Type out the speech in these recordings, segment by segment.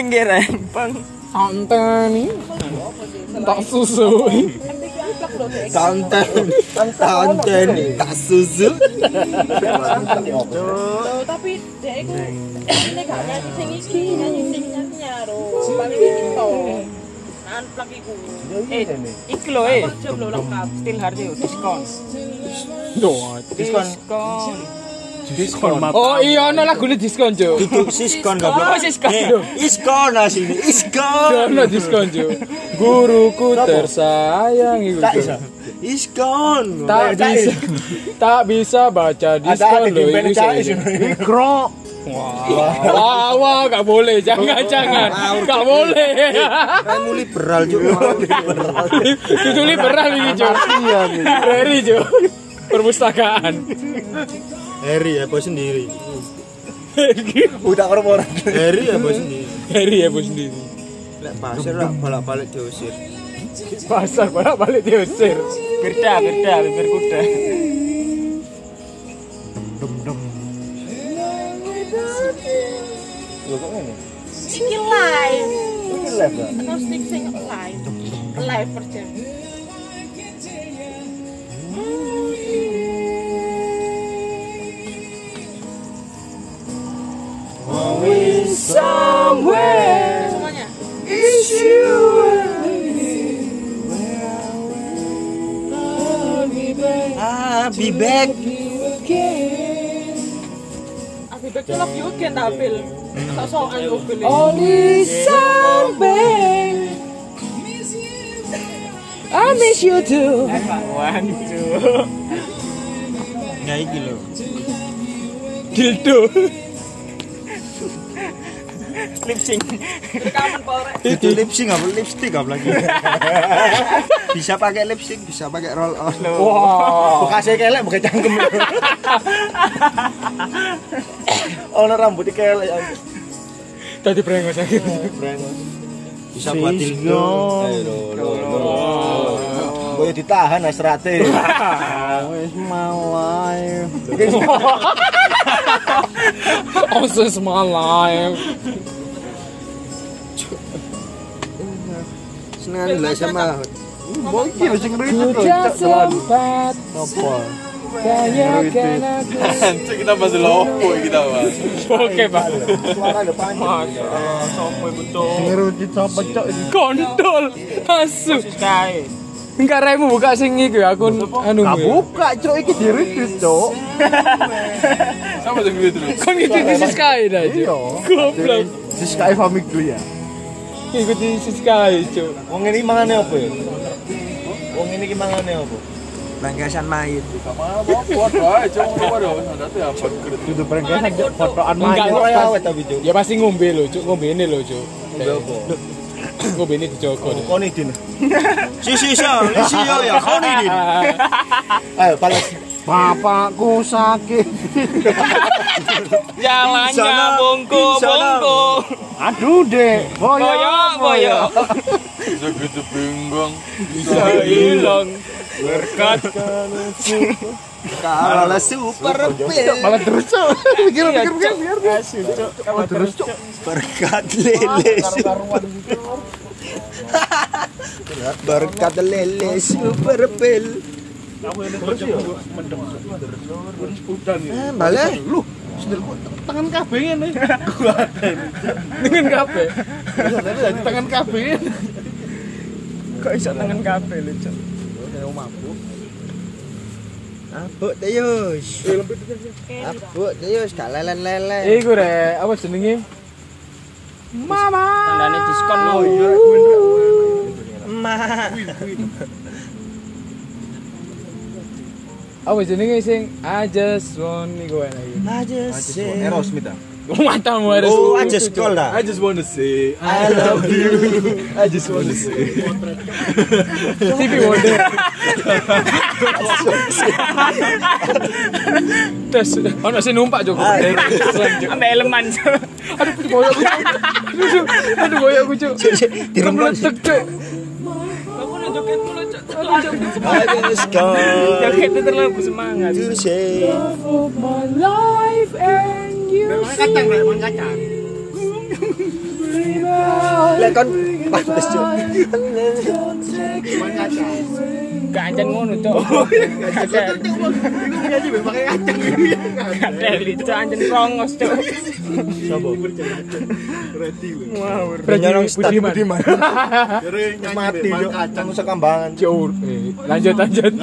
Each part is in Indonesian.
pinggir empang. Santen tak susu. Santen tak susu. Tapi dia itu ini gak nyanyi sing iki, nyanyi sing nyaro. Paling itu. Unplug iku. Iki lho Jam lo lengkap. Still hard yo diskon. Diskon. Oh iya ono lagune diskon, Cuk. Duduk siskon goblok. Oh, siskon. Iskon asine, iskon. Ono diskon, Cuk. Guruku tersayang iku. Iskon. Tak bisa baca diskon lho iki. Mikro. Wah, gak boleh, jangan. Gak boleh. Kamu liberal juga. Itu liberal ini, Cuk. Heri, Cuk. Perpustakaan. Heri ya bos sendiri. Udah orang-orang. Heri ya bos sendiri. Heri ya bos sendiri. Lek pasir lah bolak-balik diusir. Pasar bolak-balik diusir. Birda, bibir kuda. Iki live. Ini live ya? Akustik sing live. Live version. Somewhere Semuanya. is you. I'll be back. Abi back to love you again tampil. Sok-sokan gue pilih. Only somewhere I miss you too. Waduh. Ya iki lho. Dildo. Lip sync. Rekaman Polres. Itu lip sync apa lipstick apa lagi? Bisa pakai lip sync, bisa pakai roll on. Wah. Bekasnya kelek bukan cangkem. Ono rambutnya kelek. Tadi brengos sakit. Bisa buat dildo. Boyo ditahan asrate. Wis my life. Oh, this is my life. Senang lah sama. Boy iki lho sing ribet lho. Sudah sempat Apa? tanyakan aku. Cek kita bahas lopo kita bahas. Oke, Pak. Suara depan. Sopo betul. Sing ngerti sapa cok iki. Kontol. Asu. Kae. Enggak remu buka sing iki akun anu. Buka cok iki diridis cok. Sama sing gitu dulu. Kon ngikuti Sky dah, Cuk. Iya. Goblok. Si Sky Famik dulu ya. Ngikuti Sky, Cuk. Wong ini mangane apa ya? Wong ini ki mangane apa? Bangkasan mayit. Foto aja cuma waduh, ada tuh apa kredit. Dudu perenggasan fotoan Enggak, main Cok. ora awet tapi cok. Ya pasti ngombe lho, Cuk. Ngombene lho, Cuk. Ngombe apa? Ngombene dijogo. Koni din. Si ya kau nih. Ayo balas. Bapakku sakit. Jalannya bongko. Aduh dek. Boyo. Bisa gitu bingung. Bisa hilang berkat kalau super pil. Malah terus cok. Pikir biar. Malah terus cok. Berkat lele. Berkat lele super pil. Balik. Lu tangan kabeh ngene. Dengan kabeh. Tangan kabeh. Kok iso tangan kabeh lho, Cok. Mabuk. Abuk Tayus. Abuk Tayus gak lelen-lelen. Iku rek, apa jenenge? Mama. Tandane diskon lho. Emak. Apa jenenge sing I just want iku enak iki. Aja sih. Aerosmith ah. Matamu harus. Oh, aja sekolah dah. I just wanna say I love you. I just wanna say. TV Wonder. Terus ono sing numpak Joko. Ambil elemen. Aduh boyok. Aduh boyok Cuk. Diremban. Cuk. Aku nunjukin mulu, Cok. I just go. Joget itu terlalu semangat. To say. Of my life and you. Kacang rek, mang kacang. Lek kon pantes cuk. Gak anjen ngono, Cuk. Kadeli Cuk anjen kongos, Cuk. Penyolong Budiman. mati cuk. Kacang sekambangan. Cuk. Lanjut.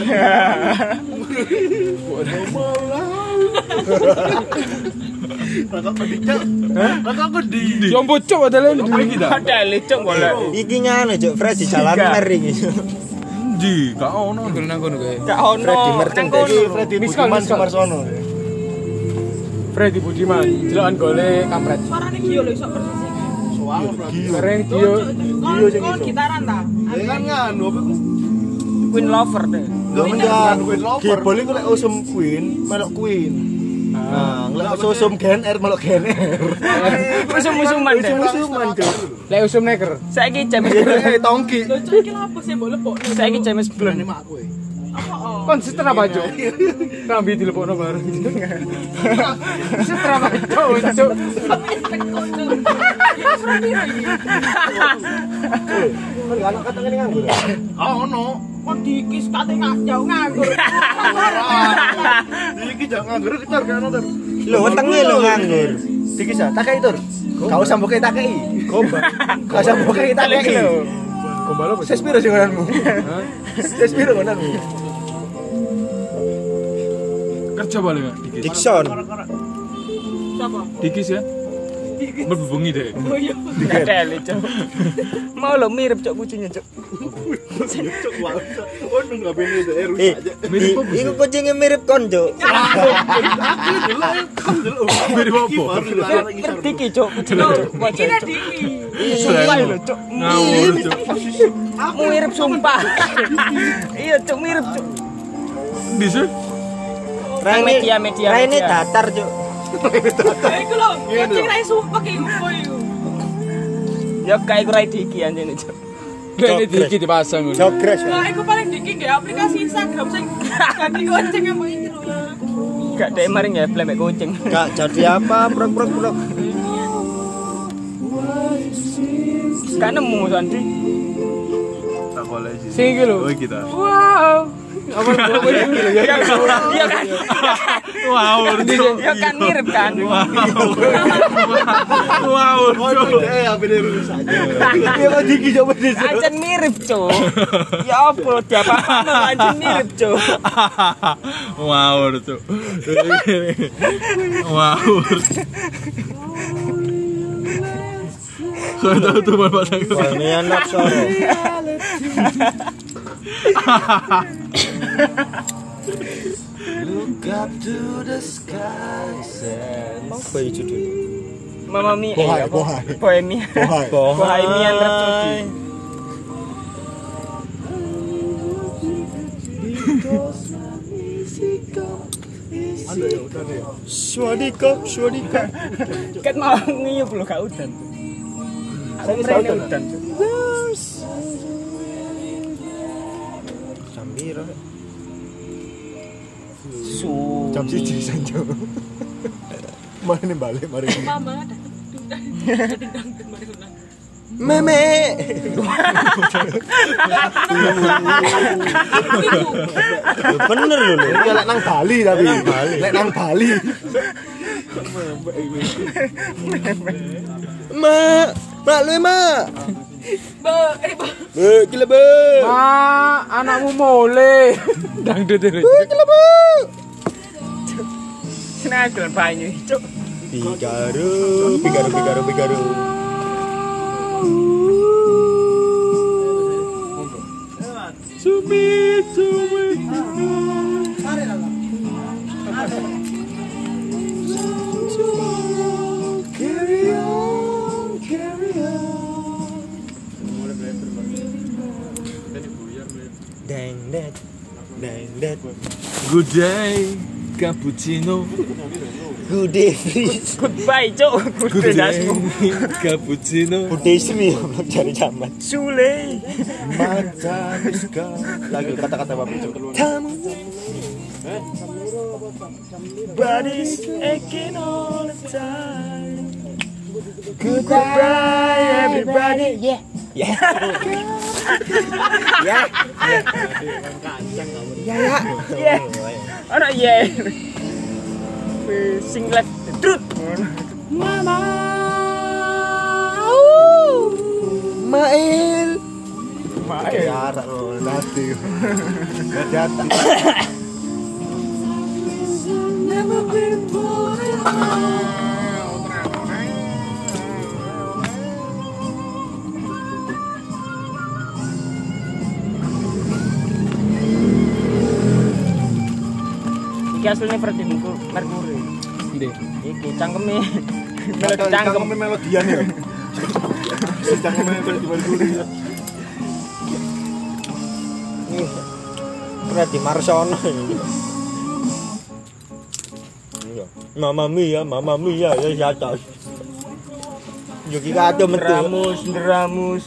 Jombo Cuk padahal Kadeli Cuk boleh. Iki ngene cuk, Fred di jalan mer iki. Di, gak ono. Nang kono kae. Gak ono. Freddy Merchant iki Freddy Budiman Sumarsono. Freddy Budiman, jelokan gole kampret. Suarane Gio lho iso persis. Keren Gio. Kon gitaran ta? Kan nganu apa? Queen Lover deh. Lho menjan Gibol iku lek usum Queen, melok Queen. Nah, lek usum Gen R melok Gen R. Musuh-musuhan deh. Musuh-musuhan cuk. Lek usum neker. Saiki James Kayak tongki. Lho cuk iki lho apa sih mbok lepokno? Saiki James Blunt. Apa? Konsisten apa, Cuk? Rambi dilepokno bareng. Konsisten apa, Cuk? Anak kata ngene nganggur. Ono. Kon dikis kate jauh nganggur. Iki jangan nganggur ketar kan nonton. Lho wetenge lho nganggur. Dikis ah, takei tur. Kau usah mbok takei. Gombal. Kau usah mbok takei. Gombal apa? Ses piro sing ngonanmu? Hah? Ses piro ngonanmu? Kerja balik ya, dikis. Dikson. Siapa? Dikis ya. Berbunyi deh. Oh iya. Kadeli, Cuk. Mau lo mirip Cuk kucingnya, Cuk. Iku kucingnya mirip kon, Cuk. Mirip apa? Diki, Cuk. Ini Diki. Sumpah lho, Cuk. Ngawur, Cuk. Mirip sumpah. Iya, Cuk, mirip, Cuk. Bisa? Media. Raine datar, Cuk. Iku lho, kucing rai sumpah iki iku. Ya kayak gue Diki anjene, Cuk. Ini Diki dipasang ngono. Jogres. Lah iku paling Diki nggih aplikasi Instagram sing ganti kucing apa iki lho. Gak dek maring ya blemek kucing. Gak jadi apa, prok. Gak nemu Sandi. Tak boleh sih. Sing iki lho. Oh, kita. Wow. Apa iki lho ya? Iya kan. Wow, Ya kan mirip kan. wow. apa dia lulus aja. Ya kok Diki coba di Ancen mirip, Cuk. Ya apa diapa-apa ancen mirip, Cuk. wow, Cuk. wow. Kau tahu tuh bapak saya. Ini anak sore. Look up to the sky. Apa itu judulnya? Mama Mia. Bohai. Bohemia. Bohemian Rhapsody. Swadikap. Kan mau ngiyup lho gak udan. Aku mrene udan. Sambiro. Jam 1 sanjo. Mari balik mari. Mama ada. Meme. Bener lho. Iki lek nang Bali tapi. Lek nang Bali. Mak lu mak. Gila be. Ma, anakmu mole. Dangdut itu. Gila be. Senang banyu, Cuk. Bigaru. Good day, cappuccino. Good day, please. Goodbye, Cuk. Good day, cappuccino. Good day, Sri. Belum cari zaman. Sule. Mata miska. Lagi kata-kata bapak itu. Kamu. Body's aching all the time. Goodbye, Everybody, yeah. Ya. Ya. Ya ya. Yeah. Ana yeah. Sing left the truth. Mama. Mail. Mail. Jarak lo, hati. Hati-hati. Iki asline Freddie Mercury. Ndi? Iki cangkeme. Melodi cangkem. Melodian ya. Cangkeme melodi. Freddie Marsono. Mamma mia, ya jatuh. Yogi kado metu. Deramus.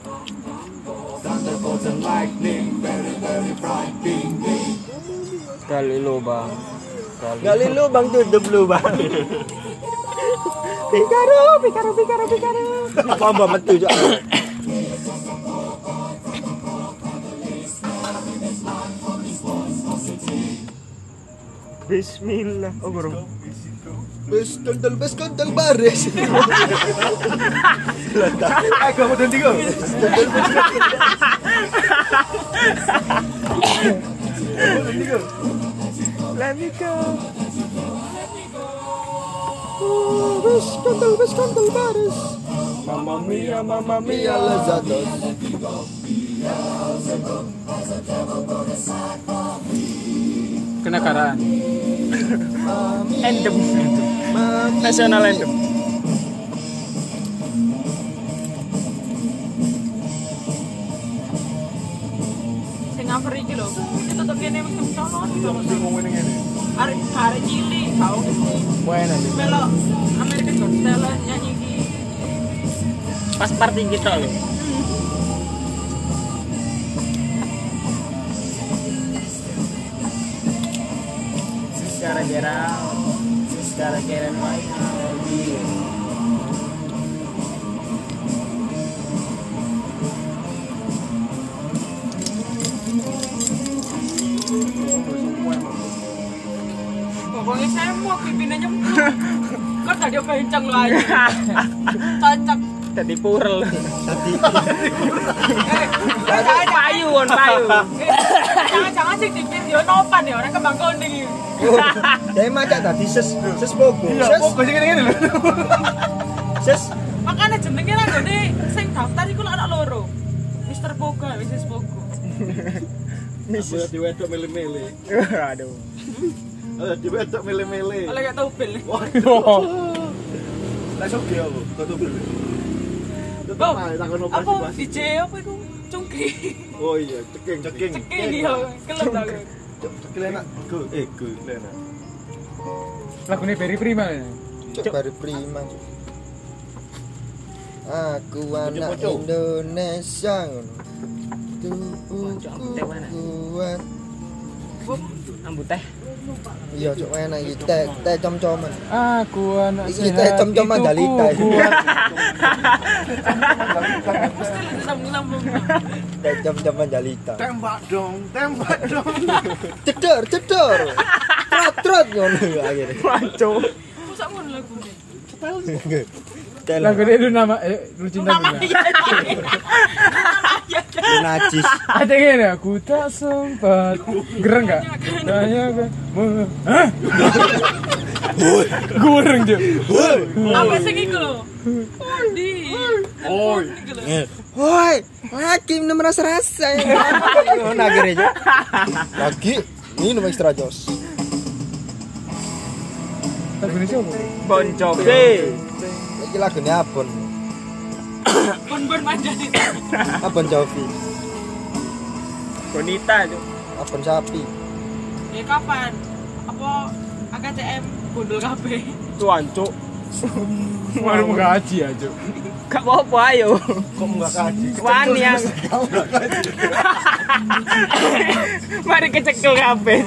Gali lubang. Gali lubang tutup lubang. Pikaro. Apa mbak metu jo? Bismillah. Oh, bro. Bes kontel baris. Aku mau ganti kok. Let me go. Bes kontel baris. Mamma mia, Mia lezatos. Kenegaraan. Anthem. National anthem. Sing cover iki lho. Itu tetep kene mesti sono. Sing ngomong ngene. Arek cilik kau mesti Buena. melok American Got Talent nyanyi iki. Pas party kita loh. Gotta get it right now. Pokoknya saya mau pimpinannya kan tadi kenceng lagi. Cocok. Jadi purel. Payu. Jangan sih di video nopan ya orang kembang konding. Saya macak tadi ses pogo. Iya, kok sing ngene lho. Ses Makanya jenenge ra gone sing daftar iku anak loro. Mr. Pogo, Mrs. Pogo. Bisa diwedok mele-mele. Aduh. Diwedok mele-mele. Oleh gak tau bil. Lah sok ya, kok tuh. Bang, apa DJ apa iku? Cungki. Oh iya, ceking. Ceking ya, kelem ta. Ceking enak. Go enak. Lagune Berry Prima. baru prima. Aku anak Indonesia. Tubuhku kuat. Ambut teh. Iya, cok enak iki teh com-coman. Aku anak Iki teh com-coman Dalita. Sambung-sambung. Teh com-coman Dalita. Tembak dong. Cedor. Trot ngono akhirnya. Waco. Masa ngono lagune. Lagu itu nama lu cinta Nama Bunda. iya. Najis. Ada yang ini aku tak sempat gereng nggak? Tanya kan, hah? Goreng jo. Apa sing iku lho? Di. Oi. Woi, hakim nem rasa-rasa. Ngono akhirnya. Lagi minum extra jos. Lagu ini siapa? Bon Jovi. Iki lagune Abon. Bon manjani. Abon Jovi. Bonita jo. Abon sapi. Ya kapan? Apa AKCM bundul kabeh? Tuan cuk. Baru gaji aja. Gak apa-apa ayo. Kok enggak kaji? Wani yang. Mari kecekel kabeh.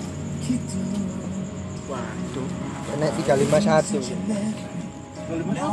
Nek 351.